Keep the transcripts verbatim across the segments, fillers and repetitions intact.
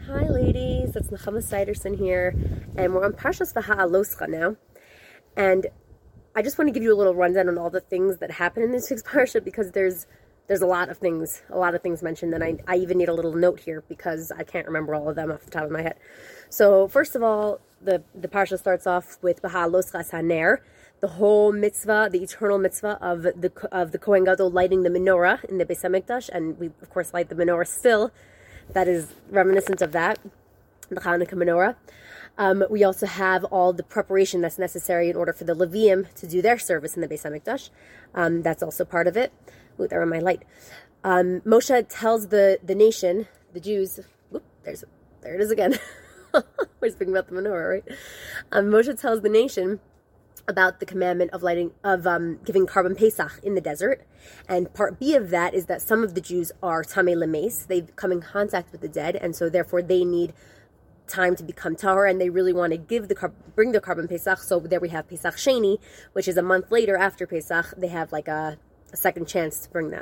Hi ladies, it's Nechama Siderson here, and we're on Parshas V'ha'aloscha now. And I just want to give you a little rundown on all the things that happen in this week's Parsha, because there's there's a lot of things, a lot of things mentioned, and I, I even need a little note here because I can't remember all of them off the top of my head. So first of all, the, the Parsha starts off with V'ha'aloscha Haner, the whole mitzvah, the eternal mitzvah of the of the Kohen Gadol lighting the menorah in the Beis HaMikdash, and we of course light the menorah still. That is reminiscent of that, the Hanukkah menorah. Um, we also have all the preparation that's necessary in order for the Leviim to do their service in the Beis HaMikdash. Um, that's also part of it. Ooh, there on my light. Um, Moshe tells the, the nation, the Jews, whoop, there's, there it is again. We're speaking about the menorah, right? Um, Moshe tells the nation about the commandment of lighting, of um, giving carbon Pesach in the desert. And part B of that is that some of the Jews are Tamei Lemeis. They've come in contact with the dead, and so therefore they need time to become tahor, and they really want to give the bring the carbon Pesach. So there we have Pesach Sheni, which is a month later after Pesach. They have like a, a second chance to bring that.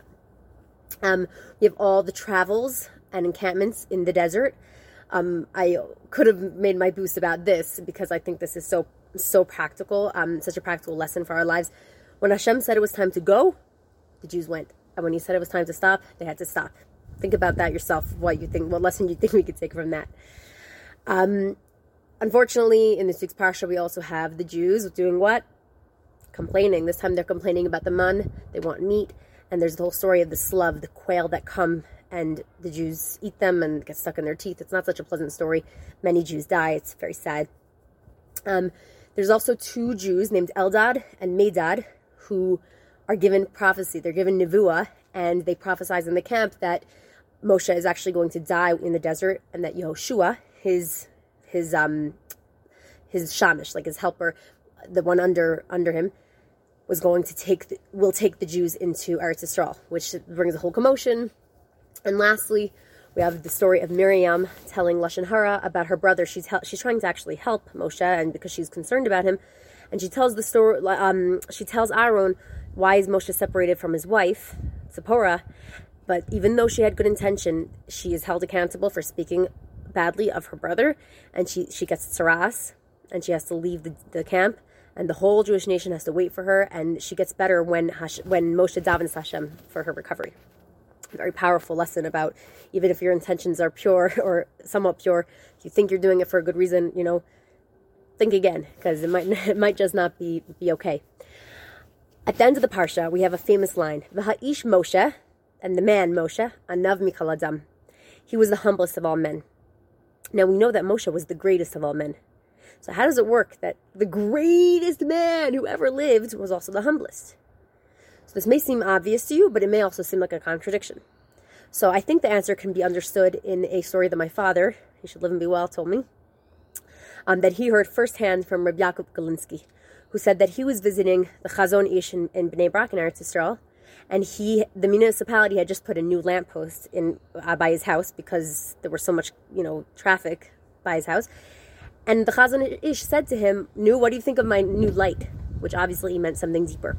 Um, we have all the travels and encampments in the desert. Um, I could have made my boost about this because I think this is so so practical, um, such a practical lesson for our lives. When Hashem said it was time to go, the Jews went. And when he said it was time to stop, they had to stop. Think about that yourself, what you think, what lesson you think we could take from that. Um, unfortunately, in this week's Parsha, we also have the Jews doing what? Complaining. This time they're complaining about the man. They want meat. And there's the whole story of the slav, the quail that come, and the Jews eat them and get stuck in their teeth. It's not such a pleasant story. Many Jews die. It's very sad. Um, There's also two Jews named Eldad and Medad who are given prophecy. They're given nevuah, and they prophesize in the camp that Moshe is actually going to die in the desert, and that Yehoshua, his his um his shamish, like his helper, the one under under him, was going to take the, will take the Jews into Eretz Yisrael, which brings a whole commotion. And lastly, we have the story of Miriam telling Lashon Hara about her brother. She's hel- she's trying to actually help Moshe, and because she's concerned about him, and she tells the story. Um, she tells Aaron why is Moshe separated from his wife, Zipporah. But even though she had good intention, she is held accountable for speaking badly of her brother, and she she gets tsaras, and she has to leave the, the camp, and the whole Jewish nation has to wait for her. And she gets better when Hash- when Moshe davens Hashem for her recovery. Very powerful lesson about even if your intentions are pure or somewhat pure, you think you're doing it for a good reason, you know, think again, because it might it might just not be be okay. At the end of the Parsha, we have a famous line, V'ha'ish Moshe, and the man Moshe, Anav Mikol Adam. He was the humblest of all men. Now we know that Moshe was the greatest of all men. So how does it work that the greatest man who ever lived was also the humblest? So this may seem obvious to you, but it may also seem like a contradiction. So I think the answer can be understood in a story that my father, he should live and be well, told me, um, that he heard firsthand from Reb Yaakov Galinsky, who said that he was visiting the Chazon Ish in, in Bnei Brak in Eretz Yisrael, and he, the municipality had just put a new lamppost in uh, by his house because there was so much, you know, traffic by his house. And the Chazon Ish said to him, "Nu, what do you think of my new light?" Which obviously he meant something deeper.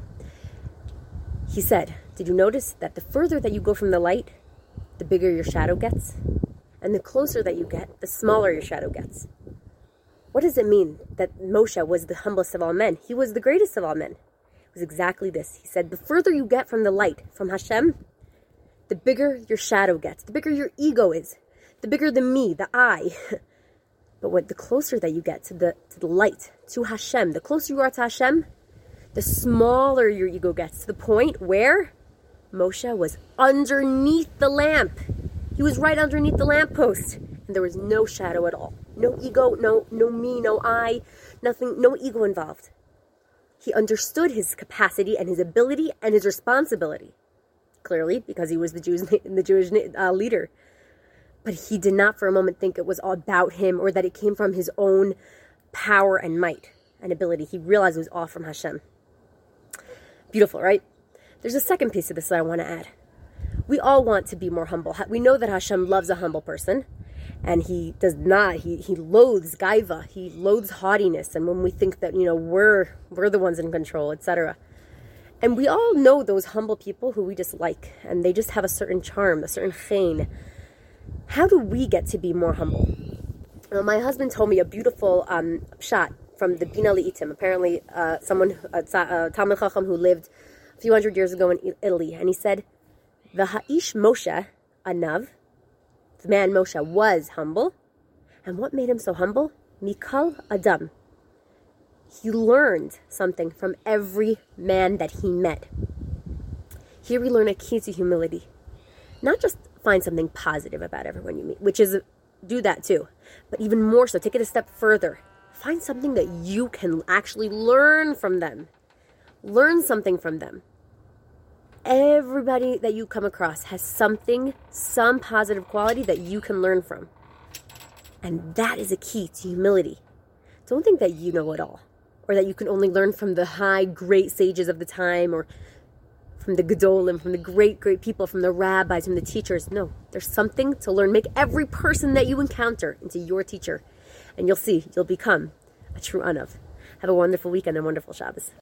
He said, "Did you notice that the further that you go from the light, the bigger your shadow gets? And the closer that you get, the smaller your shadow gets." What does it mean that Moshe was the humblest of all men? He was the greatest of all men. It was exactly this. He said, the further you get from the light, from Hashem, the bigger your shadow gets, the bigger your ego is, the bigger the me, the I. But what the closer that you get to the to the light, to Hashem, the closer you are to Hashem, the smaller your ego gets, to the point where Moshe was underneath the lamp. He was right underneath the lamppost, and there was no shadow at all. No ego, no no me, no I, nothing, no ego involved. He understood his capacity and his ability and his responsibility, clearly, because he was the Jews, the Jewish uh, leader. But he did not for a moment think it was all about him or that it came from his own power and might and ability. He realized it was all from Hashem. Beautiful, right? There's a second piece of this that I want to add. We all want to be more humble. We know that Hashem loves a humble person, and he does not. He he loathes gaiva. He loathes haughtiness, and when we think that, you know, we're we're the ones in control, et cetera. And we all know those humble people who we just like, and they just have a certain charm, a certain chein. How do we get to be more humble? Uh, my husband told me a beautiful um, shot from the Bina Li'itim. Apparently, uh, someone, a uh, Talmid Chacham who lived a few hundred years ago in Italy, and he said, "V'ha'ish Moshe anav," the man Moshe was humble, and what made him so humble? Mikal Adam. He learned something from every man that he met. Here we learn a key to humility. Not just find something positive about everyone you meet, which is, do that too. But even more so, take it a step further. Find something that you can actually learn from them. Learn something from them. Everybody that you come across has something, some positive quality that you can learn from. And that is a key to humility. Don't think that you know it all, or that you can only learn from the high, great sages of the time, or from the Gedolim, from the great, great people, from the rabbis, from the teachers. No, there's something to learn. Make every person that you encounter into your teacher, and you'll see, you'll become a true Anav. Have a wonderful weekend and wonderful Shabbos.